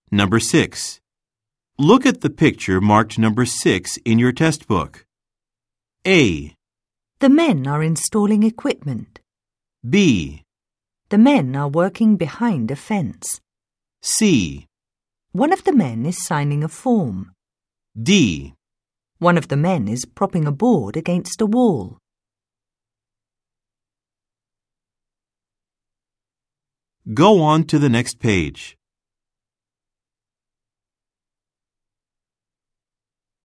Number 6. Look at the picture marked number 6 in your test book. A. The men are installing equipment. B. The men are working behind a fence. C. One of the men is signing a form. D. One of the men is propping a board against a wall. Go on to the next page.